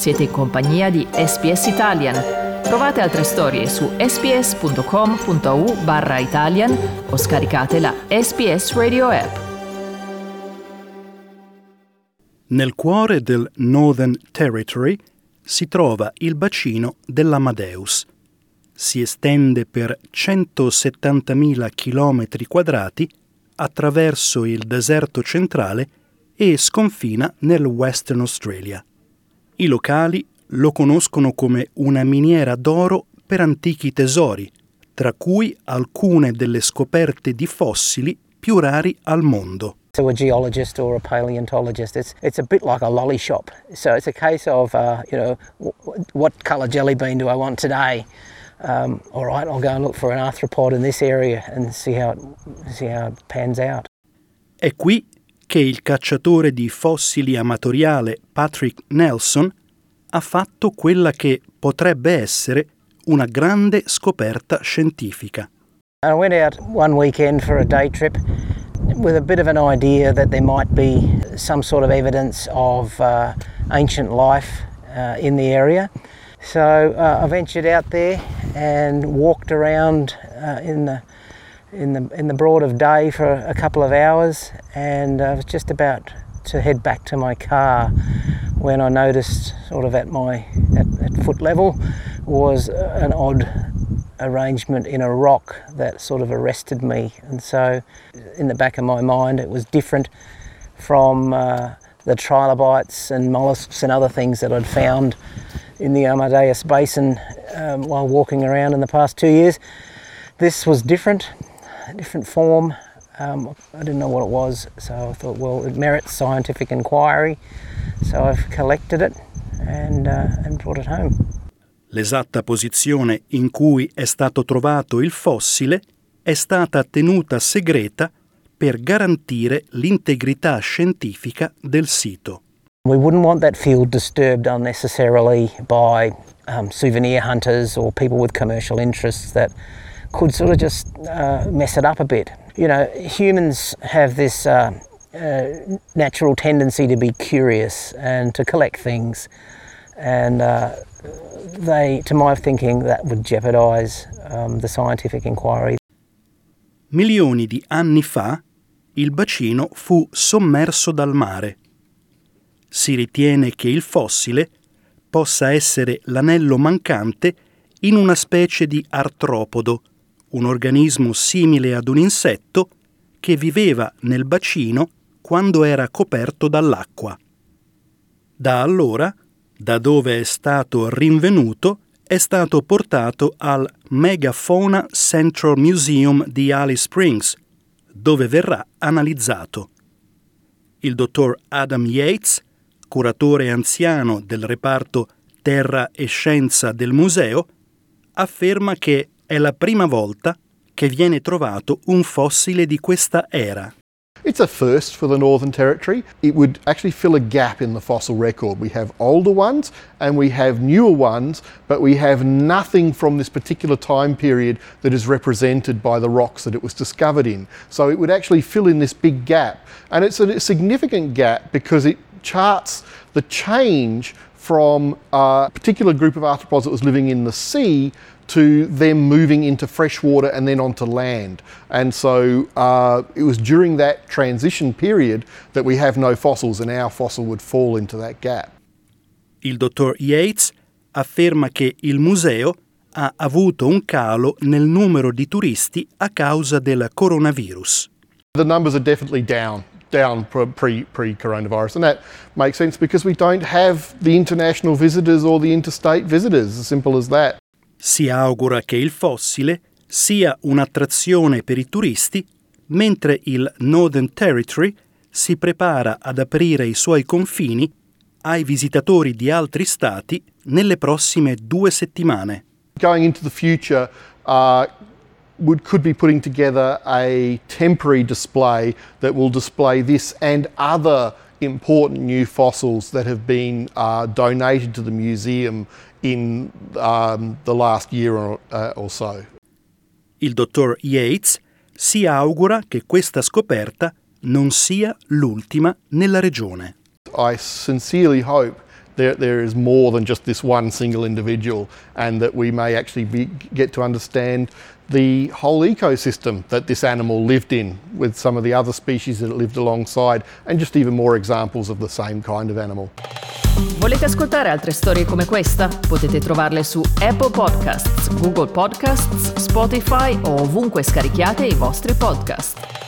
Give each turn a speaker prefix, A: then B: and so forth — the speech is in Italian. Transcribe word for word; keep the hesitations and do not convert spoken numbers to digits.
A: Siete in compagnia di S B S Italian. Trovate altre storie su sbs.com.au barra Italian o scaricate la S B S Radio app.
B: Nel cuore del Northern Territory si trova il bacino dell'Amadeus. Si estende per centosettantamila chilometri quadrati attraverso il deserto centrale e sconfina nel Western Australia. I locali lo conoscono come una miniera d'oro per antichi tesori, tra cui alcune delle scoperte di fossili più rari al mondo.
C: To a geologist or a paleontologist, it's it's a bit like a lolly shop. So it's a case of, uh, you know, w- what colour jelly bean do I want today? Um, all right, I'll go and look for an arthropod in this area and see how it, see how it pans out.
B: È qui che il cacciatore di fossili amatoriale Patrick Nelson ha fatto quella che potrebbe essere una grande scoperta scientifica.
C: I went out one weekend for a day trip with a bit of an idea that there might be some sort of evidence of uh, ancient life uh, in the area. So uh, I ventured out there and walked around uh, in the in the in the broad of day for a couple of hours, and I was just about to head back to my car when I noticed, sort of at my at, at foot level, was an odd arrangement in a rock that sort of arrested me. And so in the back of my mind it was different from uh, the trilobites and mollusks and other things that I'd found in the Amadeus Basin um, while walking around in the past two years. This was different, a different form. Um, I didn't know what it was, so I thought, well, it merits scientific inquiry. So I've collected it and, uh, and brought it home.
B: L'esatta posizione in cui è stato trovato il fossile è stata tenuta segreta per garantire l'integrità scientifica del sito.
C: We wouldn't want that field disturbed unnecessarily by um, souvenir hunters or people with commercial interests that could sort of just uh, mess it up a bit. You know, humans have this uh, uh, natural tendency to be curious and to collect things, and uh, they, to my thinking, that would jeopardise um, the scientific inquiry.
B: Milioni di anni fa il bacino fu sommerso dal mare. Si ritiene che il fossile possa essere l'anello mancante in una specie di artropodo, un organismo simile ad un insetto che viveva nel bacino quando era coperto dall'acqua. Da allora, da dove è stato rinvenuto, è stato portato al Megafauna Central Museum di Alice Springs, dove verrà analizzato. Il dottor Adam Yates, curatore anziano del reparto Terra e Scienza del museo, afferma che è la prima volta che viene trovato un fossile di questa era.
D: It's a first for the Northern Territory. It would actually fill a gap in the fossil record. We have older ones and we have newer ones, but we have nothing from this particular time period that is represented by the rocks that it was discovered in. So it would actually fill in this big gap. And it's a significant gap because it charts the change from a particular group of arthropods that was living in the sea to them moving into fresh water and then onto land. And so uh, it was during that transition period that we have no fossils, and our fossil would fall into that gap.
B: Il dottor Yates afferma che il museo ha avuto un calo nel numero di turisti a causa del coronavirus.
D: The numbers are definitely down. down pre, pre-coronavirus, and that makes sense because we don't have the international visitors or the interstate visitors, as simple as that.
B: Si augura che il fossile sia un'attrazione per i turisti, mentre il Northern Territory si prepara ad aprire i suoi confini ai visitatori di altri stati nelle prossime due settimane.
D: Going into the future, uh, Would, could be putting together a temporary display that will display this and other important new fossils that have been uh, donated to the museum in um, the last year or, uh, or so.
B: Il dottor Yates si augura che questa scoperta non sia l'ultima nella regione.
D: I sincerely hope there, there is more than just this one single individual, and that we may actually be, get to understand the whole ecosystem that this animal lived in with some of the other species that it lived alongside, and just even more examples of the same kind of animal.
A: Volete ascoltare altre storie come questa? Potete trovarle su Apple Podcasts, Google Podcasts, Spotify o ovunque scarichiate i vostri podcast.